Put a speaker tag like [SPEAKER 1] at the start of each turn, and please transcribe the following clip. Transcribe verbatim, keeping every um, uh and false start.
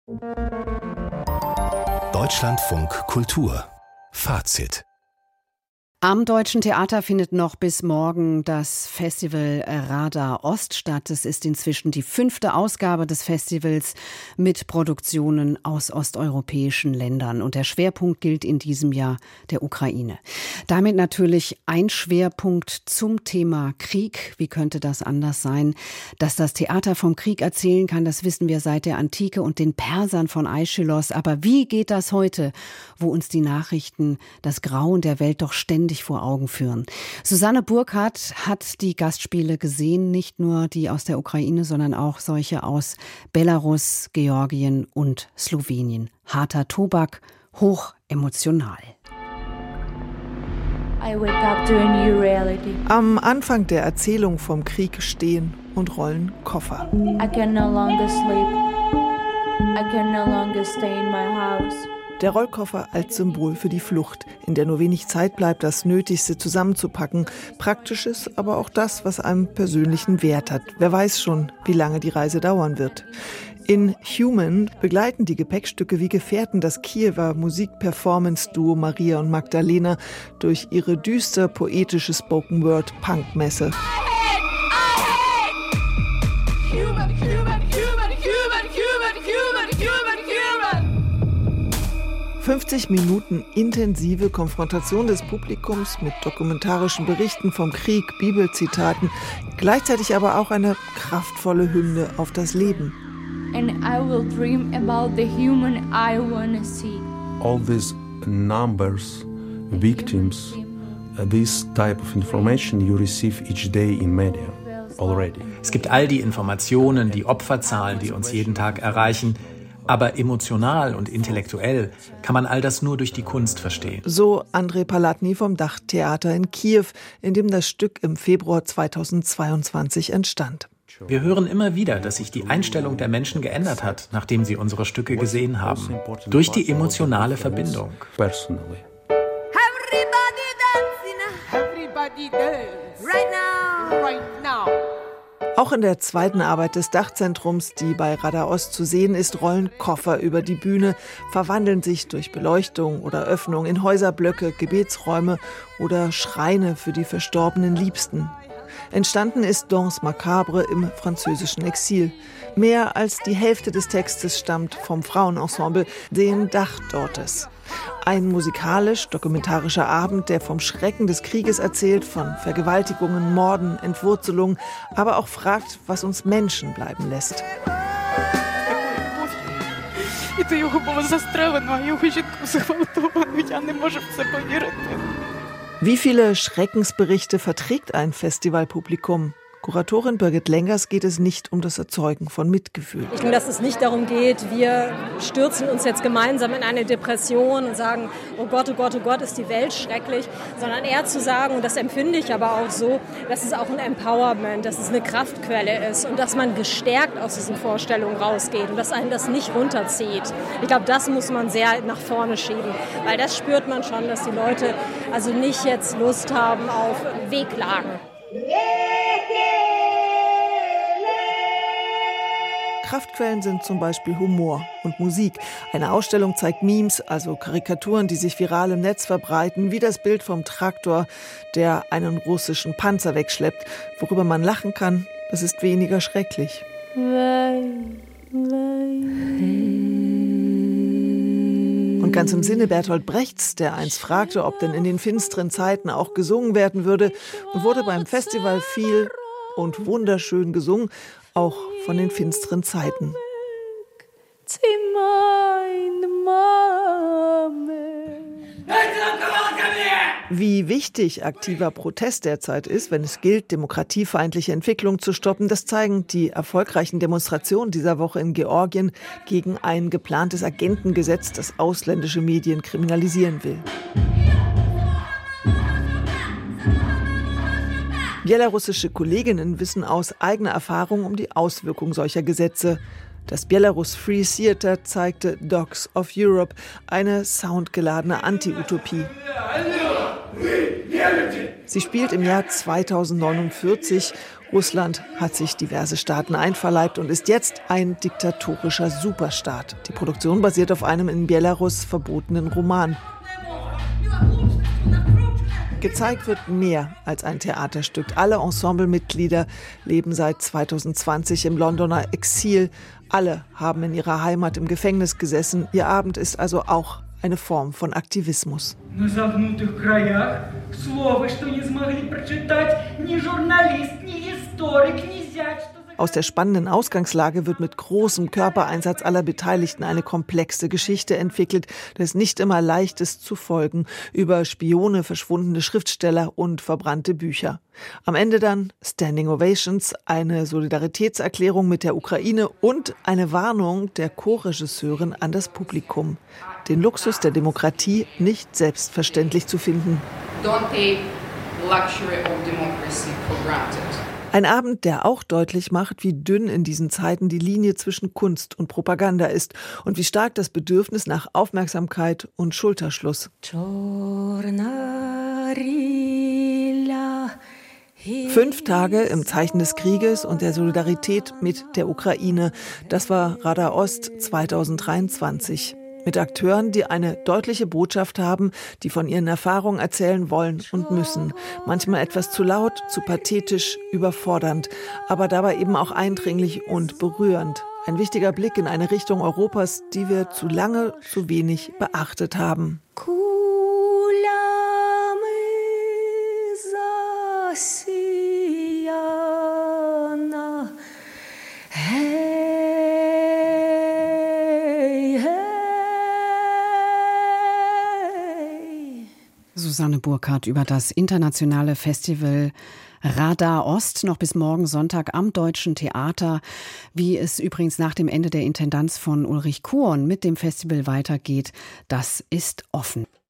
[SPEAKER 1] Deutschlandfunk Kultur Fazit.
[SPEAKER 2] Am Deutschen Theater findet noch bis morgen das Festival Radar Ost statt. Es ist inzwischen die fünfte Ausgabe des Festivals mit Produktionen aus osteuropäischen Ländern. Und der Schwerpunkt gilt in diesem Jahr der Ukraine. Damit natürlich ein Schwerpunkt zum Thema Krieg. Wie könnte das anders sein? Dass das Theater vom Krieg erzählen kann, das wissen wir seit der Antike und den Persern von Aeschylos. Aber wie geht das heute, wo uns die Nachrichten das Grauen der Welt doch ständig vor Augen führen? Susanne Burkhardt hat die Gastspiele gesehen, nicht nur die aus der Ukraine, sondern auch solche aus Belarus, Georgien und Slowenien. Harter Tobak, hoch emotional.
[SPEAKER 3] I wake up to a new reality.
[SPEAKER 4] Am Anfang der Erzählung vom Krieg stehen und rollen Koffer.
[SPEAKER 3] I can no longer sleep. I can no longer stay in my house.
[SPEAKER 4] Der Rollkoffer als Symbol für die Flucht, in der nur wenig Zeit bleibt, das Nötigste zusammenzupacken. Praktisches, aber auch das, was einem persönlichen Wert hat. Wer weiß schon, wie lange die Reise dauern wird. In Human begleiten die Gepäckstücke wie Gefährten das Kiewer Musikperformance-Duo Maria und Magdalena durch ihre düster poetische Spoken-Word-Punk-Messe. fünfzig Minuten intensive Konfrontation des Publikums mit dokumentarischen Berichten vom Krieg, Bibelzitaten, gleichzeitig aber auch eine kraftvolle Hymne auf das Leben.
[SPEAKER 3] And I will dream about the human I wanna see.
[SPEAKER 5] All these numbers, victims, uh, this type of information you receive each day in media already.
[SPEAKER 6] Es gibt all die Informationen, die Opferzahlen, die uns jeden Tag erreichen. Aber emotional und intellektuell kann man all das nur durch die Kunst verstehen.
[SPEAKER 4] So Andrei Palatny vom Dachtheater in Kiew, in dem das Stück im Februar zweitausendzweiundzwanzig entstand.
[SPEAKER 6] Wir hören immer wieder, dass sich die Einstellung der Menschen geändert hat, nachdem sie unsere Stücke gesehen haben. Durch die emotionale Verbindung.
[SPEAKER 3] Everybody dancing. Everybody dance. Right now. Right now.
[SPEAKER 4] Auch in der zweiten Arbeit des Dachzentrums, die bei Radar Ost zu sehen ist, rollen Koffer über die Bühne, verwandeln sich durch Beleuchtung oder Öffnung in Häuserblöcke, Gebetsräume oder Schreine für die verstorbenen Liebsten. Entstanden ist Danse Macabre im französischen Exil. Mehr als die Hälfte des Textes stammt vom Frauenensemble, den Dachdortes. Ein musikalisch-dokumentarischer Abend, der vom Schrecken des Krieges erzählt, von Vergewaltigungen, Morden, Entwurzelungen, aber auch fragt, was uns Menschen bleiben lässt. Wie viele Schreckensberichte verträgt ein Festivalpublikum? Kuratorin Birgit Lengers geht es nicht um das Erzeugen von Mitgefühl.
[SPEAKER 7] Ich denke, dass es nicht darum geht, wir stürzen uns jetzt gemeinsam in eine Depression und sagen, oh Gott, oh Gott, oh Gott, ist die Welt schrecklich, sondern eher zu sagen, und das empfinde ich aber auch so, dass es auch ein Empowerment, dass es eine Kraftquelle ist und dass man gestärkt aus diesen Vorstellungen rausgeht und dass einen das nicht runterzieht. Ich glaube, das muss man sehr nach vorne schieben, weil das spürt man schon, dass die Leute also nicht jetzt Lust haben auf Wehklagen.
[SPEAKER 4] Kraftquellen sind zum Beispiel Humor und Musik. Eine Ausstellung zeigt Memes, also Karikaturen, die sich viral im Netz verbreiten, wie das Bild vom Traktor, der einen russischen Panzer wegschleppt. Worüber man lachen kann, das ist weniger schrecklich. Und ganz im Sinne Bertolt Brechts, der einst fragte, ob denn in den finsteren Zeiten auch gesungen werden würde, wurde beim Festival viel und wunderschön gesungen, auch von den finsteren Zeiten. Wie wichtig aktiver Protest derzeit ist, wenn es gilt, demokratiefeindliche Entwicklung zu stoppen, das zeigen die erfolgreichen Demonstrationen dieser Woche in Georgien gegen ein geplantes Agentengesetz, das ausländische Medien kriminalisieren will. Belarussische Kolleginnen wissen aus eigener Erfahrung um die Auswirkungen solcher Gesetze. Das Belarus Free Theater zeigte Dogs of Europe, eine soundgeladene Anti-Utopie. Sie spielt im Jahr zweitausendneunundvierzig Russland hat sich diverse Staaten einverleibt und ist jetzt ein diktatorischer Superstaat. Die Produktion basiert auf einem in Belarus verbotenen Roman. Gezeigt wird mehr als ein Theaterstück. Alle Ensemblemitglieder leben seit zweitausendzwanzig im Londoner Exil. Alle haben in ihrer Heimat im Gefängnis gesessen. Ihr Abend ist also auch eine Form von Aktivismus. Aus der spannenden Ausgangslage wird mit großem Körpereinsatz aller Beteiligten eine komplexe Geschichte entwickelt, das nicht immer leicht ist zu folgen, über Spione, verschwundene Schriftsteller und verbrannte Bücher. Am Ende dann Standing Ovations, eine Solidaritätserklärung mit der Ukraine und eine Warnung der Co-Regisseurin an das Publikum. Den Luxus der Demokratie nicht selbstverständlich zu finden. Don't take luxury of democracy for granted. Ein Abend, der auch deutlich macht, wie dünn in diesen Zeiten die Linie zwischen Kunst und Propaganda ist und wie stark das Bedürfnis nach Aufmerksamkeit und Schulterschluss. Fünf Tage im Zeichen des Krieges und der Solidarität mit der Ukraine. Das war Radar Ost zweitausenddreiundzwanzig. Mit Akteuren, die eine deutliche Botschaft haben, die von ihren Erfahrungen erzählen wollen und müssen. Manchmal etwas zu laut, zu pathetisch, überfordernd, aber dabei eben auch eindringlich und berührend. Ein wichtiger Blick in eine Richtung Europas, die wir zu lange, zu wenig beachtet haben.
[SPEAKER 2] Susanne Burkhardt über das internationale Festival Radar Ost, noch bis morgen Sonntag am Deutschen Theater. Wie es übrigens nach dem Ende der Intendanz von Ulrich Kuon mit dem Festival weitergeht, das ist offen.